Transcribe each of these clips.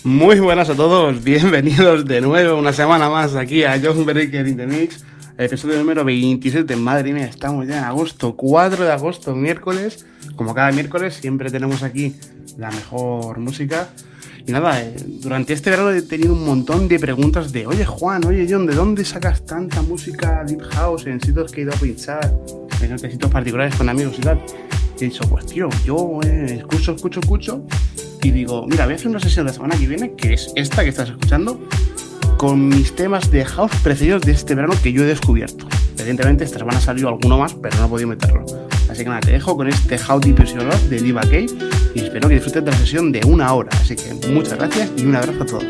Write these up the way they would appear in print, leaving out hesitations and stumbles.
Muy buenas a todos, bienvenidos de nuevo una semana más aquí a John Breaker in the Mix, episodio número 27, madre mía, estamos ya en agosto, 4 de agosto, miércoles, como cada miércoles siempre tenemos aquí la mejor música. Y nada, durante este verano he tenido un montón de preguntas de oye Juan, oye John, ¿de dónde sacas tanta música deep house en sitios que he ido a pinchar, en sitios particulares con amigos y tal? Y he dicho, pues tío, yo escucho y digo, mira, voy a hacer una sesión la semana que viene, que es esta que estás escuchando, con mis temas de house preferidos de este verano que yo he descubierto. Evidentemente esta semana salió alguno más, pero no he podido meterlo. Así que nada, te dejo con este How Deep Is Your Love de Diva K y espero que disfrutes de la sesión de 1 hora. Así que muchas gracias y un abrazo a todos.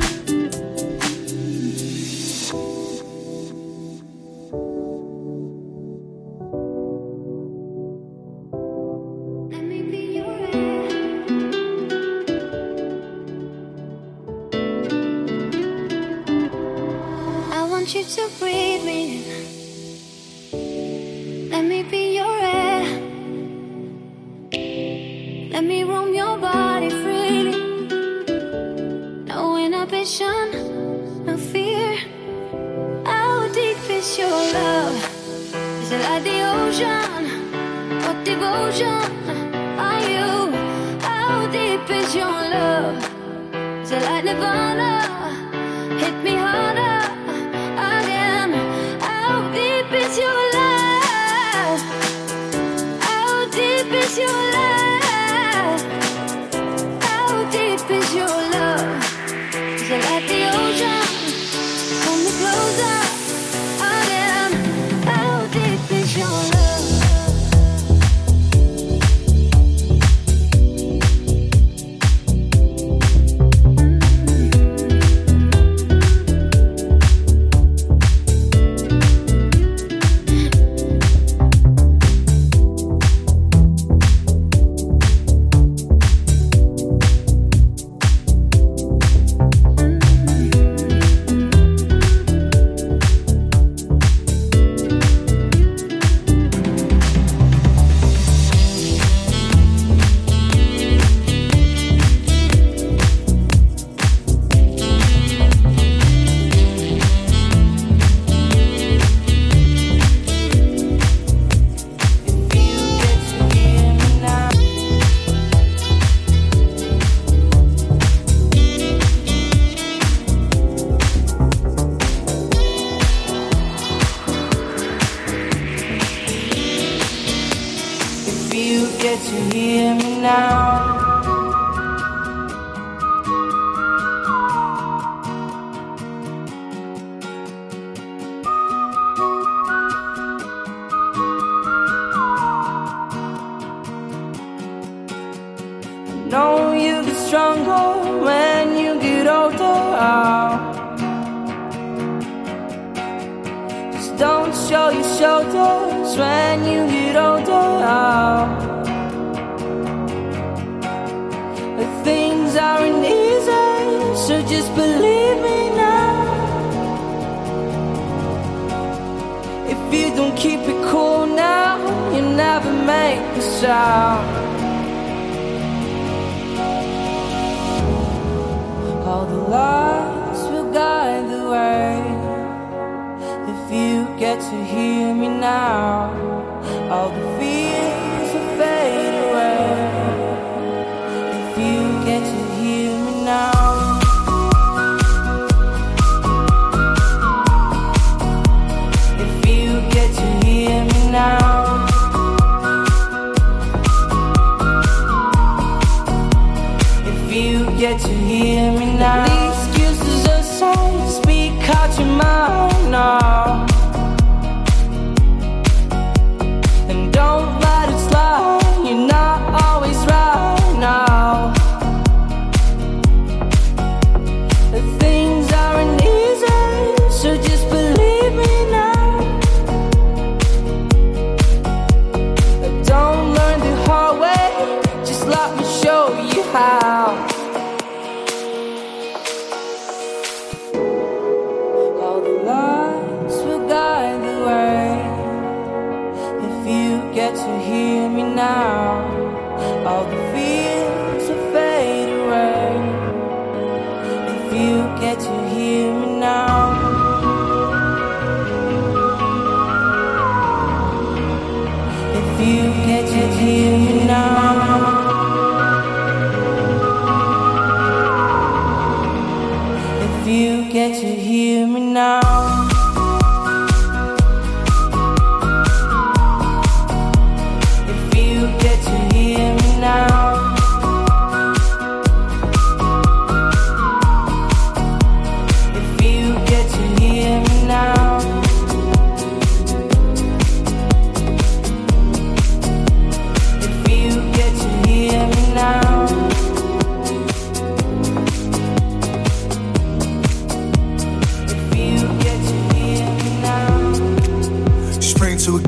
All the fears will fade away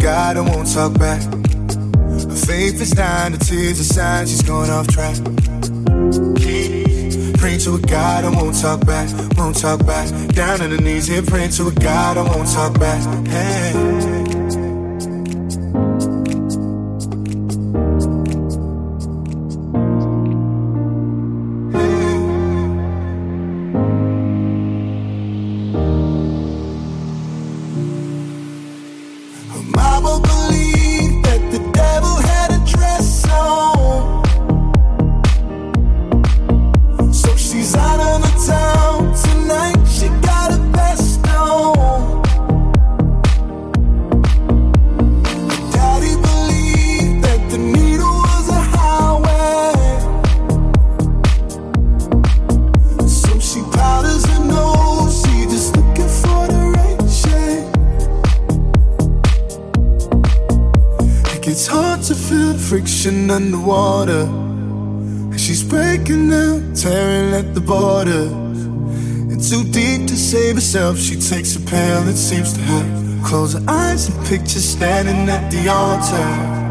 God and won't talk back. Her faith is dying, the tears are signs she's going off track. Praying to a God and won't talk back, won't talk back. Down on the knees here, praying to a God and won't talk back. Hey. Friction underwater, and she's breaking down, tearing at the border. And too deep to save herself, she takes a pill, it seems to her. Close her eyes and picture standing at the altar.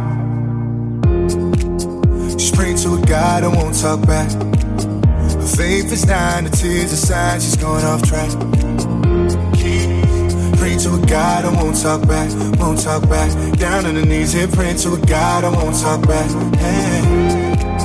She's praying to a God and won't talk back. Her faith is dying, the tears are signs she's going off track. Praying to a God I won't talk back, won't talk back. Down on the knees here, praying to a God I won't talk back. Hey.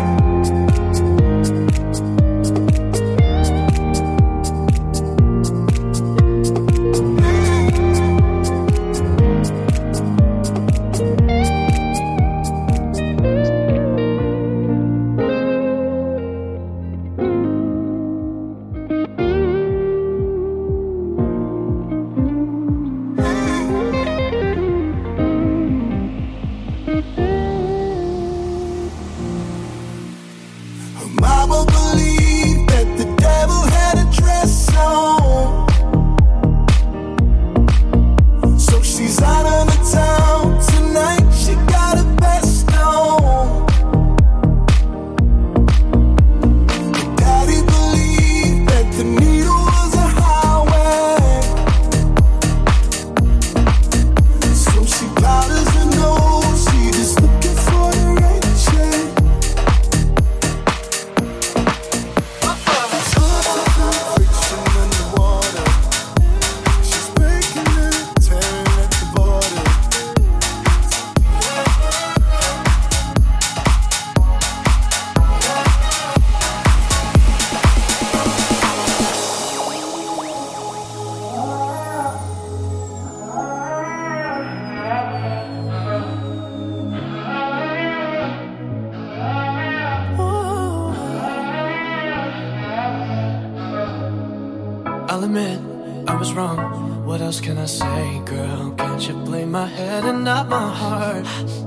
I'll admit I was wrong. What else can I say, girl? Can't you blame my head and not my heart?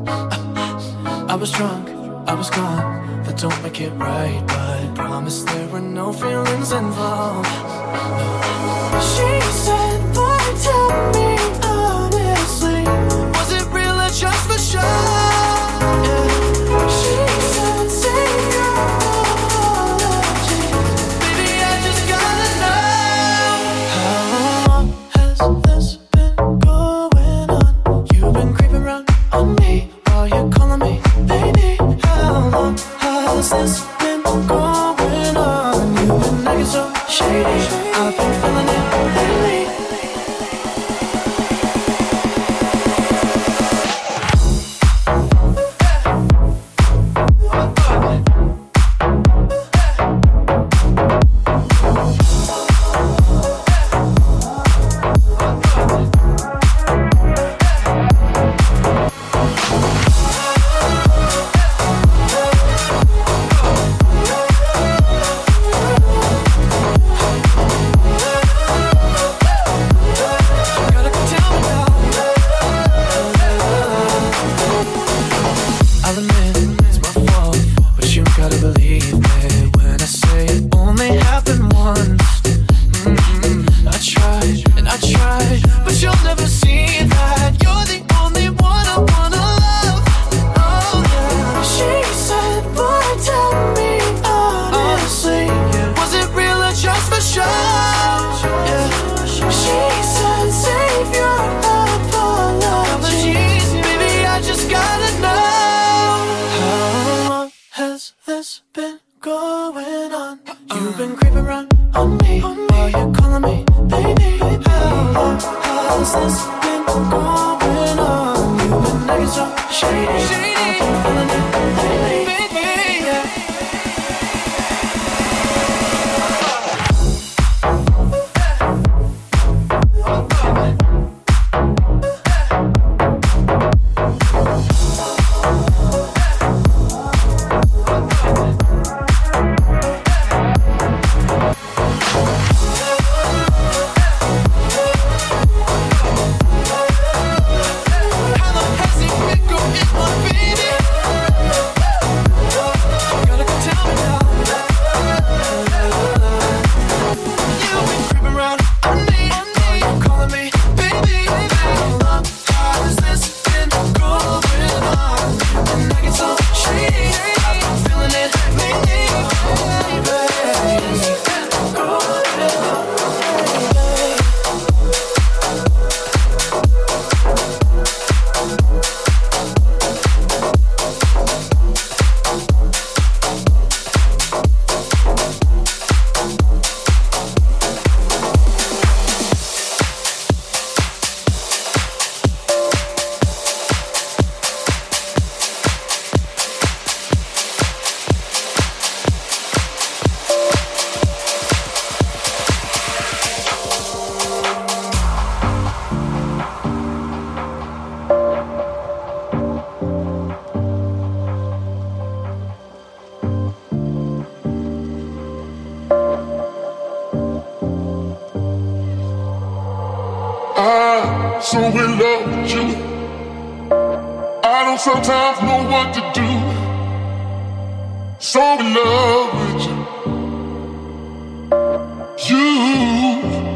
I was drunk, I was gone. That don't make it right, but I promise there were no feelings involved. She said, boy, tell me honestly, was it real or just for show? Yeah. She said, say your apology. Baby, I just gotta know. How long has this been going on? You've been creeping around on me while you're calling me baby. How long has this been going on? You've been acting so shady. I've been feeling it lately. been going on? You've been creeping around on me while you're calling me baby. How's this been going on? You've been acting so shady. I've been feeling it lately, baby. Yeah. So in love with you, I don't sometimes know what to do. So in love with you.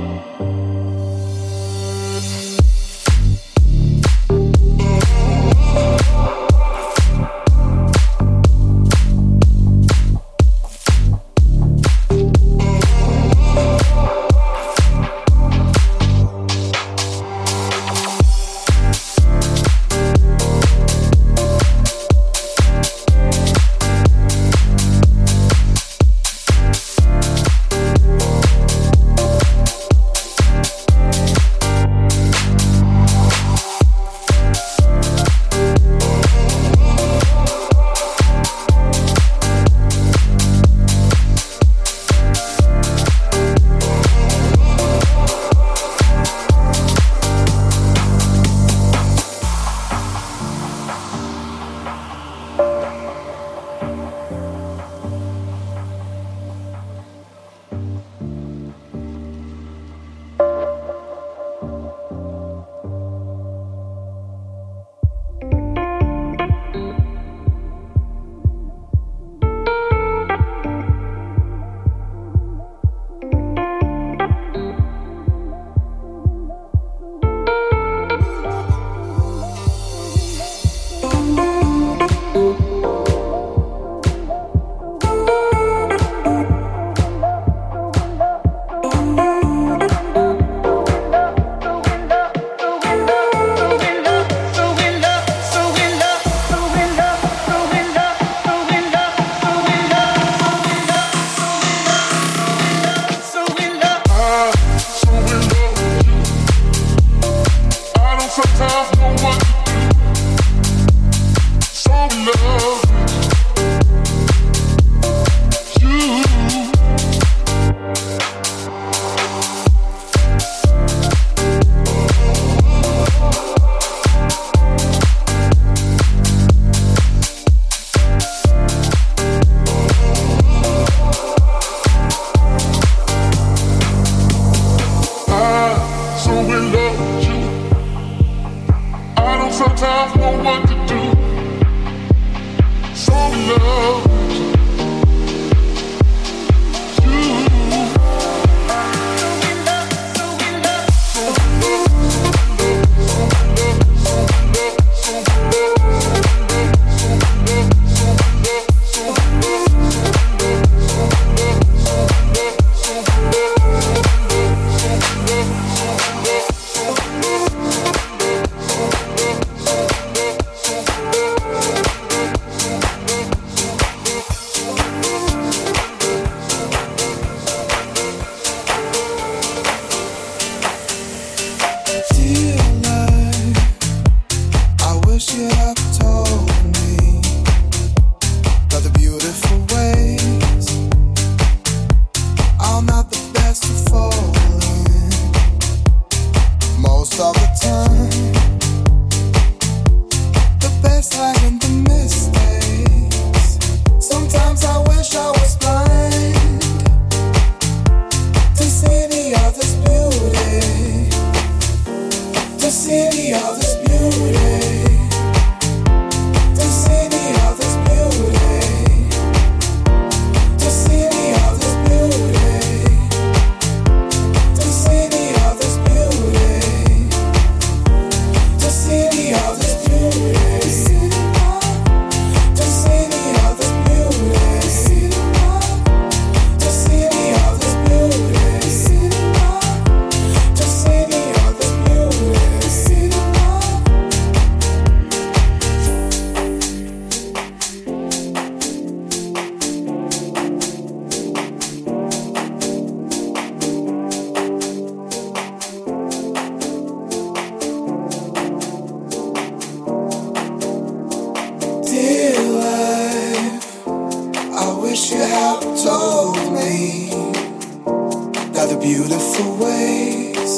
told me that the beautiful ways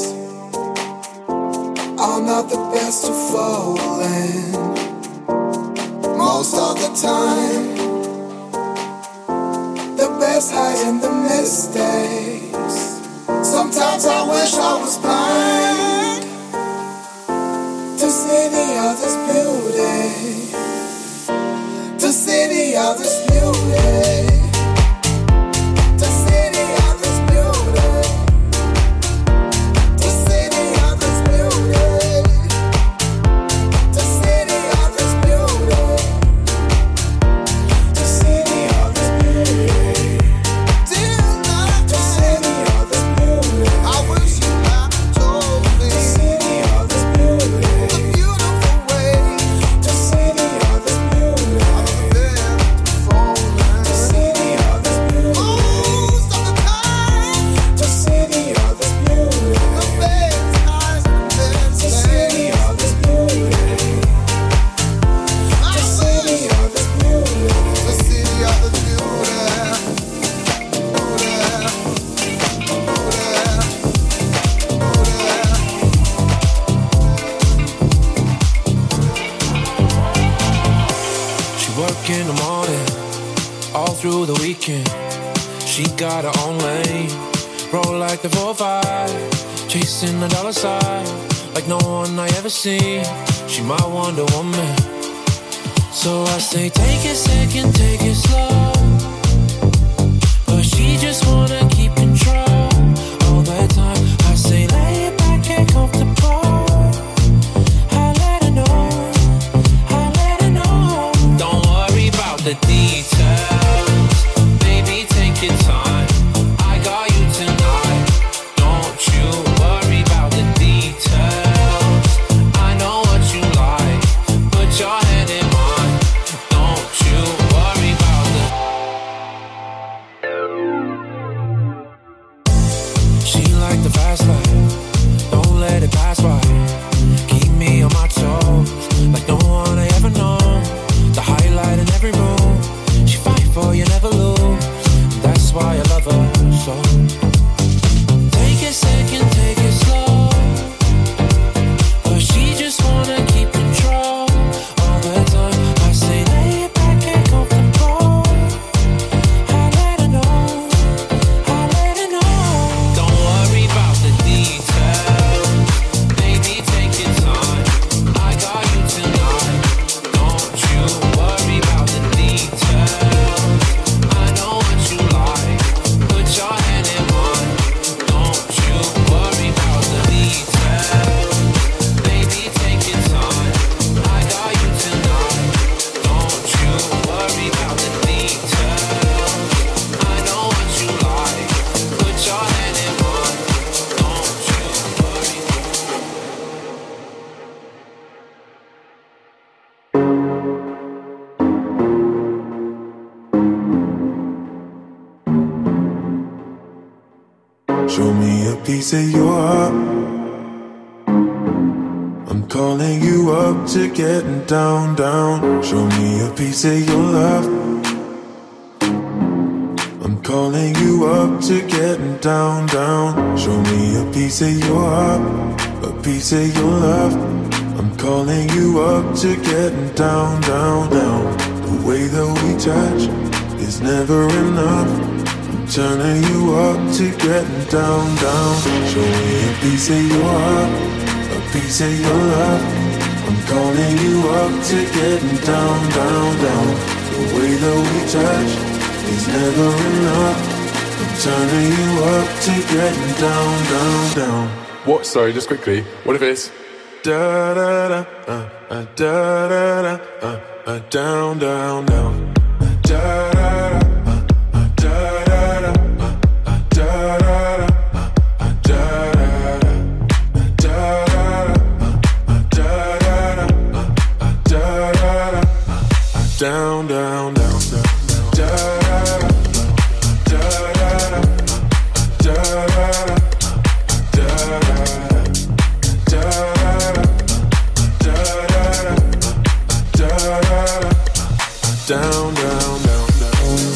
are not the best to fall in. Most of the time, the best hide in the mistakes. Sometimes I wish I was blind to see the other's beauty, to see the other's beauty. In the morning, all through the weekend, she got her own lane. Roll like the 4-5, chasing the dollar sign like no one I ever seen. She my Wonder Woman, so I say take it second, take it slow. But she just wanna keep control all the time. I say lay it back and comfortable. The details, baby, take your time. I got you tonight. Don't you worry about the details. I know what you like. Put your hand in mine. Don't you worry about She like the fast life. Don't let it pass by. Keep me on my toes like no one I ever known. The highlight in every move. She fight for you, never lose. That's why I love her so. Take it second, take it slow. But she just wanna keep control all the time. I say lay it back and comfortable. I let her know, I let her know. Don't worry about the details. Baby, take your time. I got you tonight. Don't you worry about the details. I know what you like. Put your hand in mine. Don't you worry about the details. Baby, take your time. I got you tonight. Don't you worry about the details. I know what you like. Put your hand in mine. Don't you worry. Show me a piece of your heart. I'm calling you up to getting down, down. Show me a piece of your love. I'm calling you up to getting down, down. Show me a piece of your heart, a piece of your love. I'm calling you up to getting down, down, down. The way that we touch is never enough. Turning you up to getting down, down. Show me a piece of your heart, a piece of your love. I'm calling you up to getting down, down, down. The way that we touch is never enough. I'm turning you up to getting down, down, down. What? Sorry, just quickly. What if it's da da da da da da down, down, down. Da da da. Down, down, down, down, da da da da da da da da. Down, down, down, down.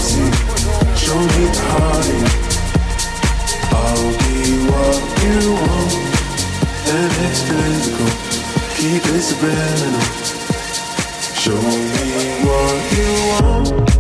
easy. Show me the heartache. I'll be what you want. And it's physical. Keep it subliminal. Show me what you want.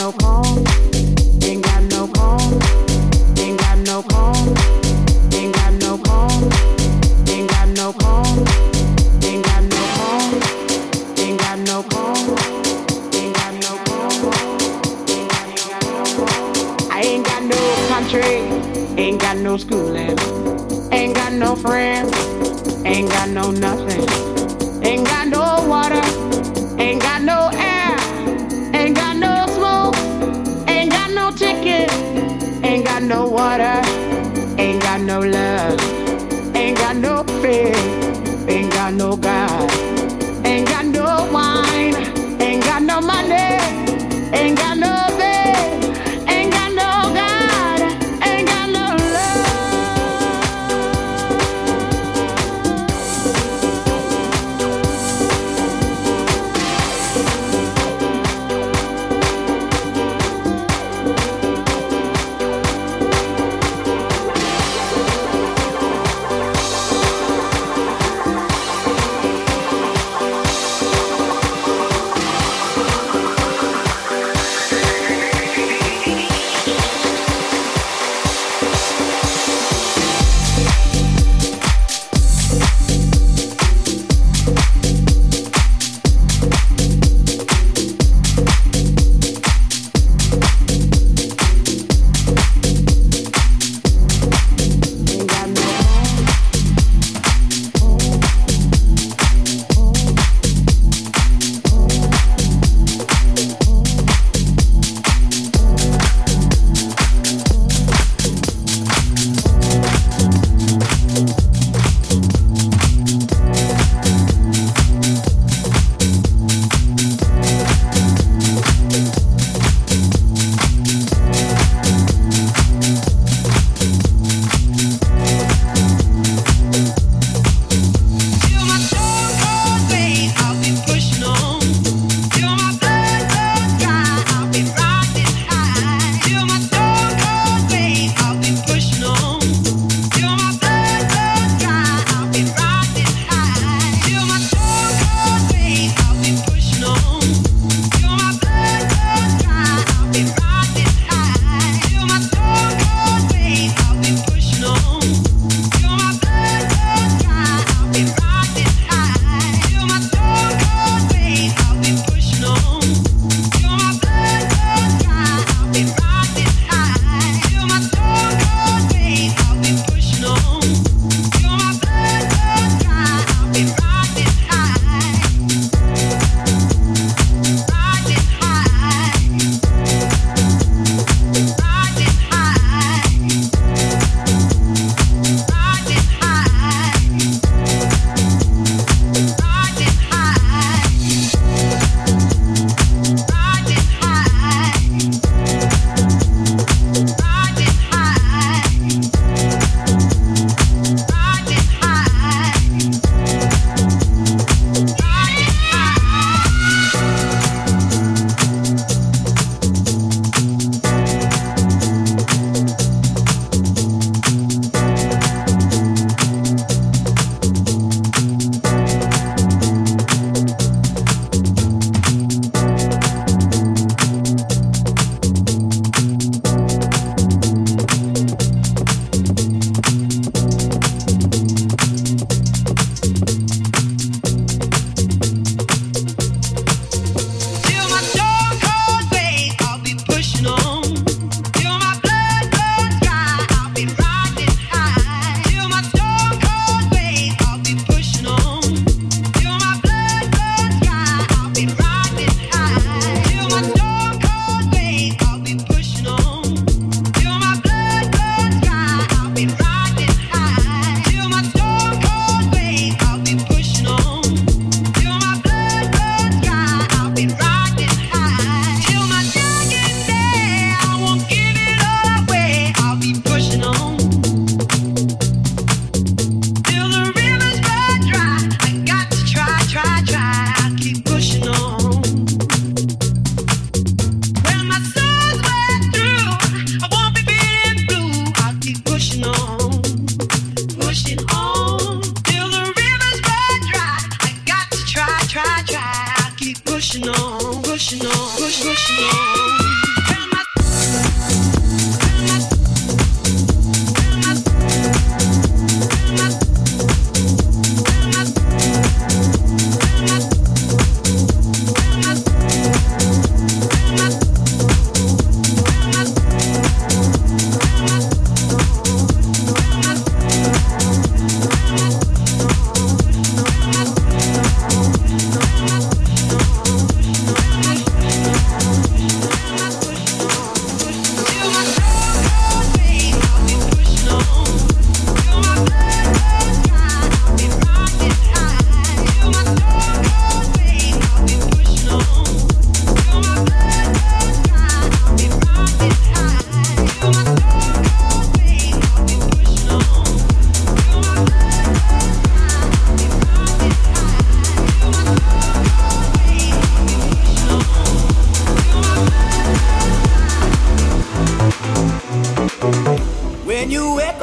no comb, ain't got no comb, ain't got no comb, ain't got no comb, ain't got no comb, ain't got no comb, ain't got no comb, ain't got no comb, I ain't got no country, ain't got no schooling, ain't got no friends, ain't got no nothing, ain't got no water, ain't got no air, ain't got no smoke, ain't got no ticket, ain't got no water, ain't got no love, ain't got no faith, ain't got no God, ain't got no wine, ain't got no money, ain't got no bed, ain't got no God, ain't got no love.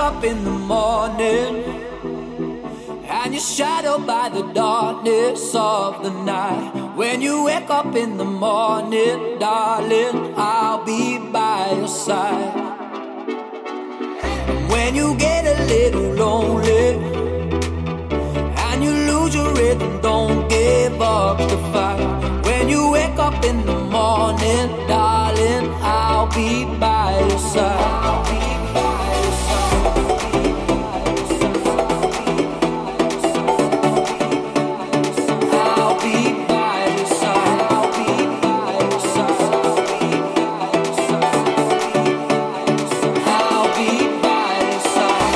up in the morning and you're shadowed by the darkness of the night. When you wake up in the morning, darling, I'll be by your side. When you get a little lonely and you lose your rhythm, don't give up the fight. When you wake up in the morning, darling, I'll be by your side. I'll be by your side. I'll be by your side. I'll be by your side. I'll be by your side.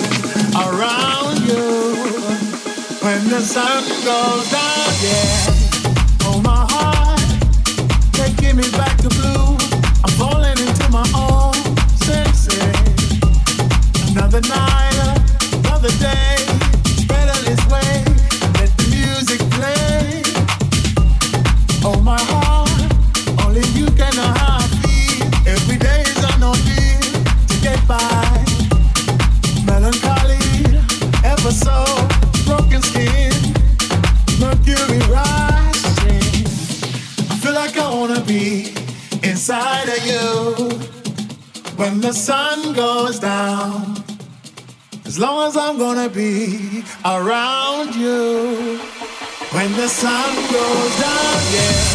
around you when the sun goes down. Yeah, oh my heart, taking me back to blue. I'm falling into my own senses. Another night, another day, it's better this way. Let the music play. Oh my heart, only you can know how I feel. Every day is an ordeal to get by. Melancholy, ever so broken skin, mercury rising. I feel like I wanna be inside of you when the sun goes down. As long as I'm gonna be around you when the sun goes down, yeah.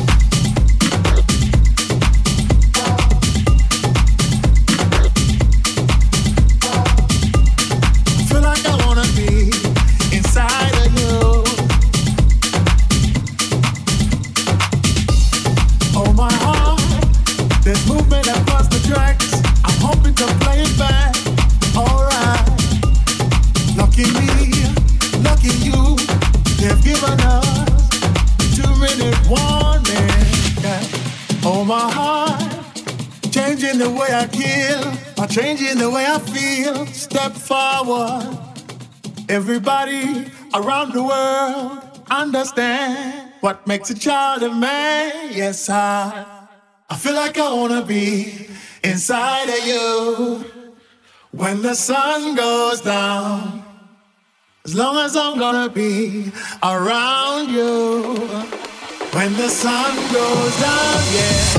The way I kill, or changing the way I feel. Step forward. Everybody around the world understand what makes a child a man. Yes, I feel like I wanna be inside of you when the sun goes down. As long as I'm gonna be around you when the sun goes down, yeah.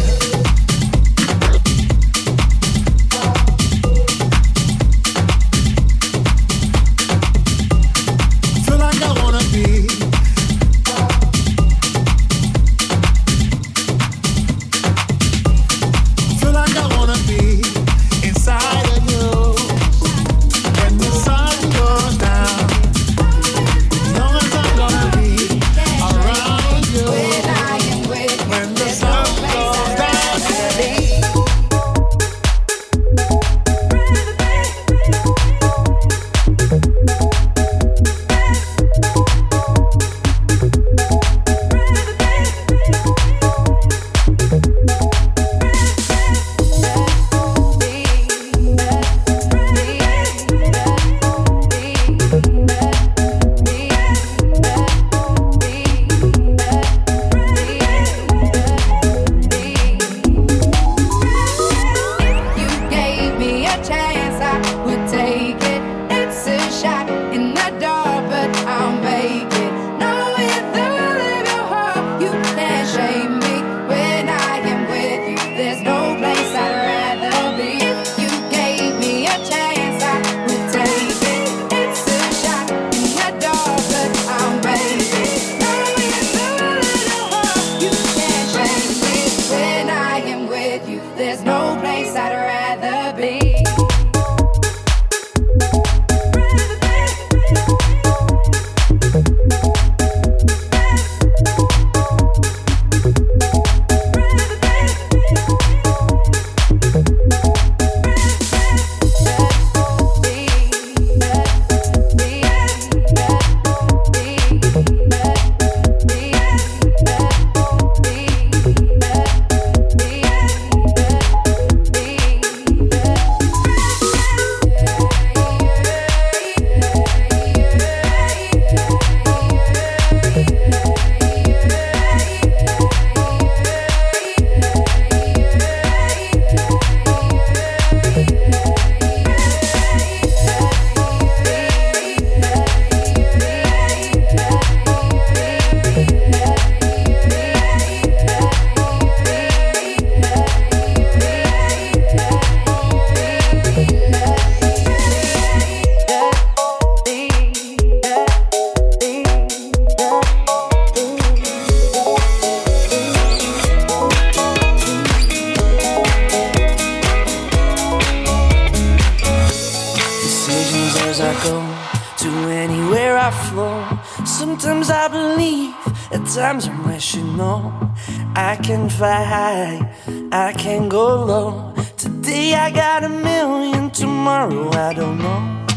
Sometimes I believe, at times I'm rational. I can fly high, I can go low. Today I got 1 million, tomorrow I don't know. The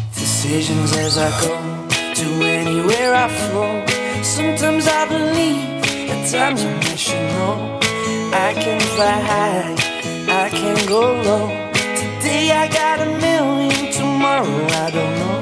decisions as I go to anywhere I flow. Sometimes I believe, at times I wish you know. I can fly high, I can go low. Today I got a million, tomorrow I don't know.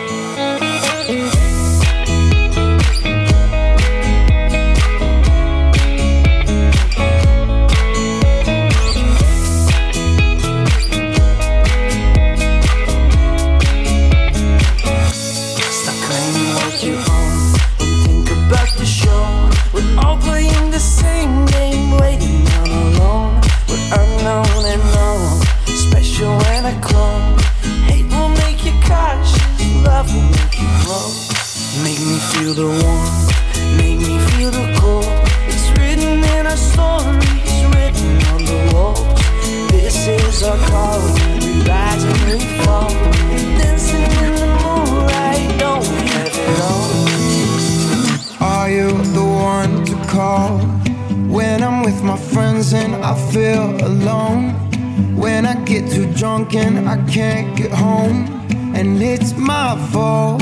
We're all playing the same game, waiting on alone. We're unknown and known, special when I come. Hate will make you cautious, love will make you grow. Make me feel the warmth, make me feel the cold. It's written in our stories, written on the walls. This is our call, we rise and we fall. Dancing in the moonlight, don't we have it all? Are you the one to call when I'm with my friends and I feel alone? When I get too drunk and I can't get home, and it's my fault.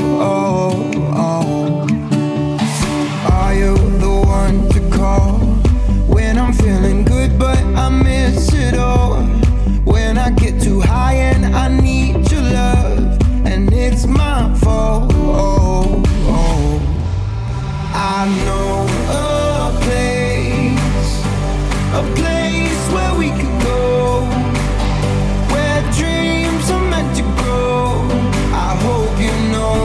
Are you the one to call when I'm feeling good but I miss it all? When I get too high and I need your love, and it's my fault. I know a place where we could go, where dreams are meant to grow. I hope you know.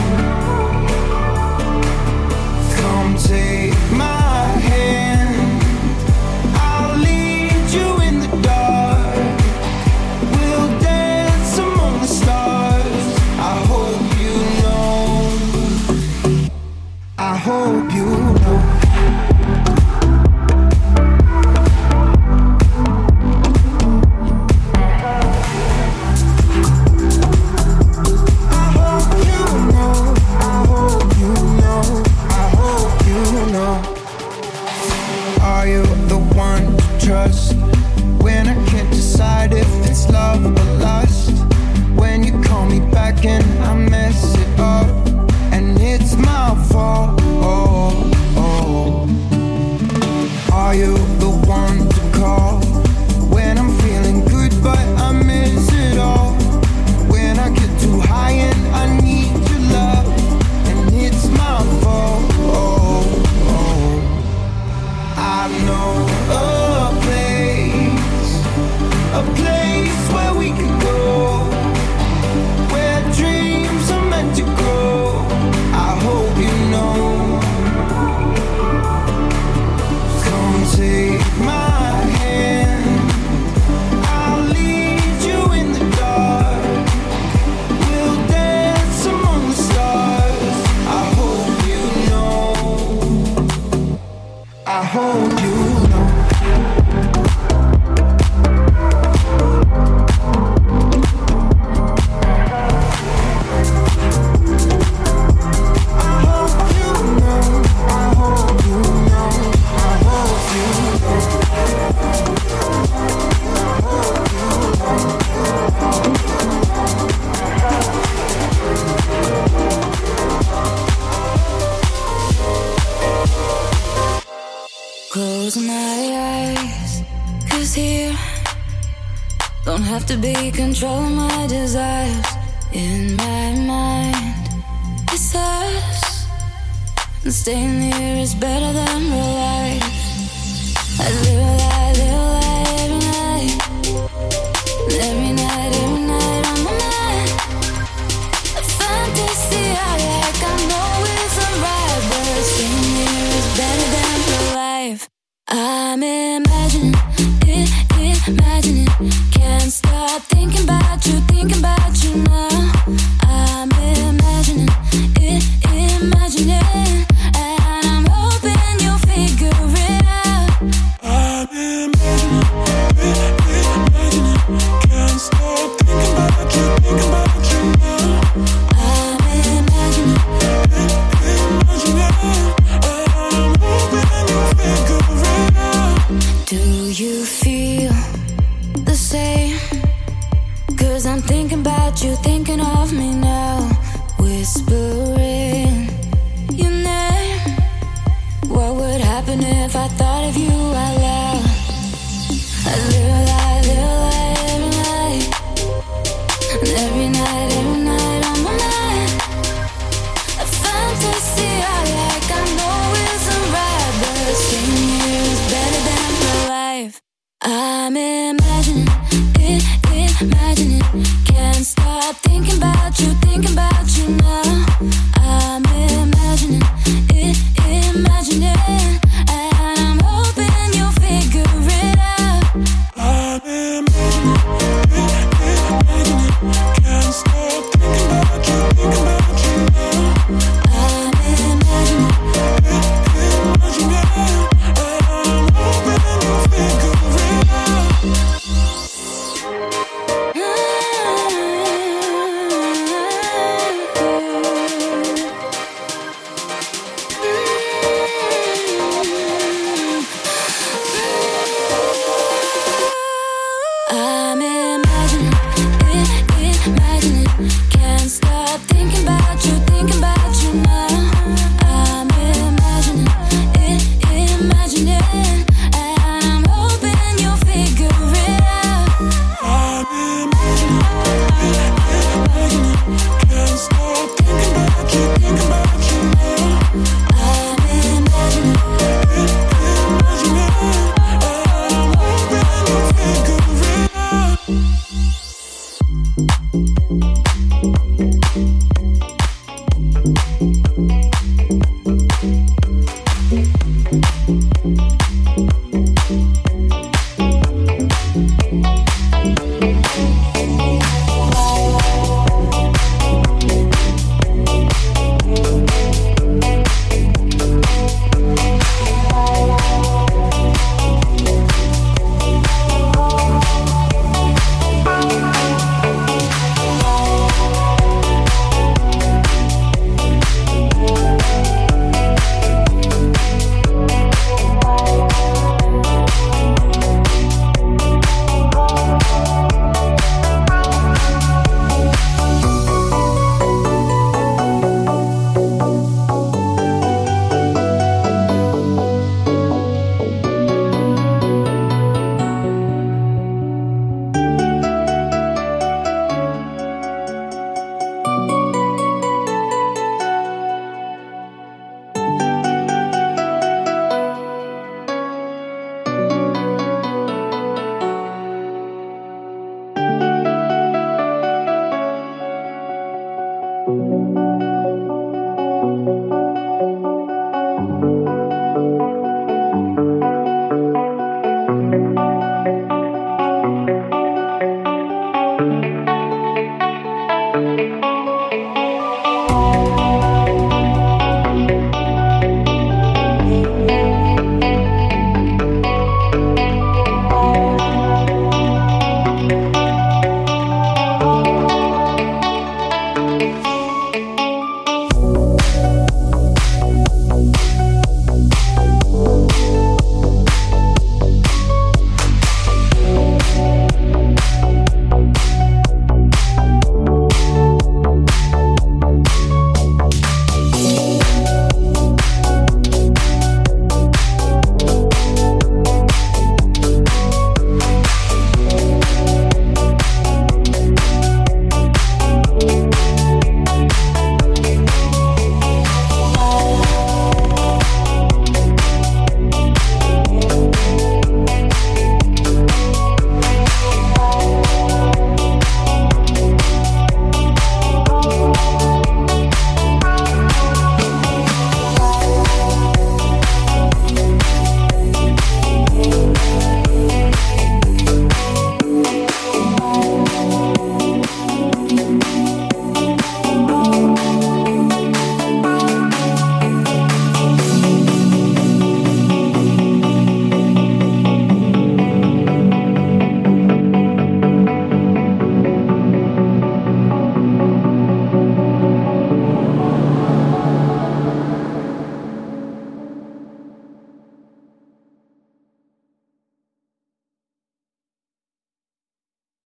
Come take my hand, I'll lead you in the dark. We'll dance among the stars. I hope you know. I hope you know. Are you the one to trust when I can't decide if it's love or lust? When you call me back and I mess it up, and it's my fault. Are you the one to call when I'm feeling good but I miss it all? When I get too high and I need your love, and it's my fault. I know a place where we could go, where dreams are meant to grow. I hope you know. Come take my hand, I'll lead you in the dark. We'll dance among the stars. I hope you know. I hope you know. Close my eyes, 'cause here don't have to be control my desires. In my mind, it's us, and staying here is better than real life. I live a lie every night, and every night on my mind. A fantasy I like, I know it's alright, but staying here is better than real life. I'm imagining it, can't stop thinking about you now. I'm imagining it, and I'm hoping you'll figure of you I love. I live a lie, every night. And every night on my mind. A fantasy I like, I know isn't right, but staying here is better than my life. I'm imagining it, imagining. Can't stop thinking about you now. I'm imagining it, imagining. And I'm hoping you'll figure it out. I'm imagining it, imagining. Can't stop thinking about you now. I'm imagining it, imagining. And I'm hoping you'll figure it out. I'm imagining it, imagining. Can't stop thinking about you now. I'm imagining it, imagining. And I'm hoping you'll figure it out. I'm imagining it, imagining. Can't stop thinking about you now. I'm imagining It, imagining. And I'm hoping you'll figure it out.